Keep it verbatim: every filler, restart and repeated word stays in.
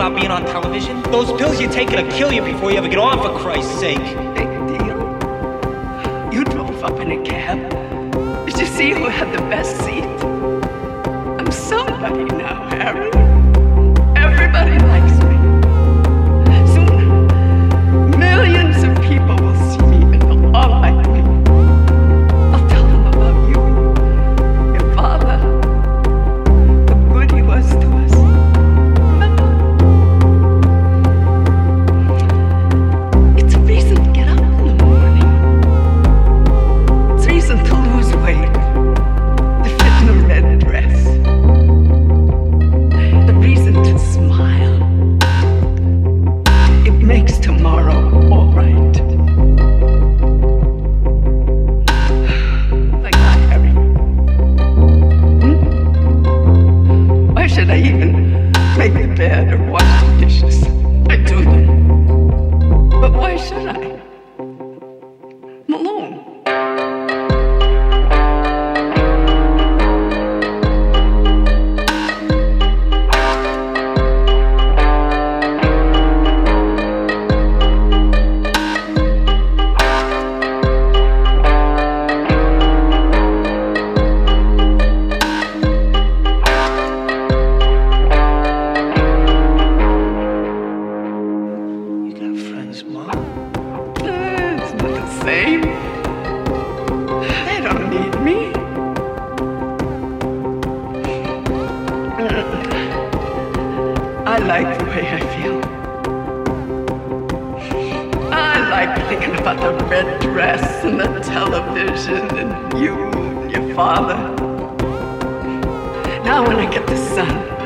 about being on television? Those pills you take will kill you before you ever get off, for Christ's sake. Big deal. You drove up in a cab. Did you see who had the best seat? I'm somebody now, Harry. Everybody likes me. Soon, millions of people will see me and they'll all like me. I'll tell them about you, your father, how good he was to us. Remember? It's a reason to get up in the morning. It's a reason to lose weight, to fit in a red dress. The reason to smile. It makes tomorrow all right. Like that, Harry. Hmm? Why should I even make the bed or wash the dishes? I do them. But why should I? I'm alone. You got friends, Mom? It's not the same. They don't need me. I like the way I feel. I like thinking about the red dress and the television and you and your father. Now when I get the sun,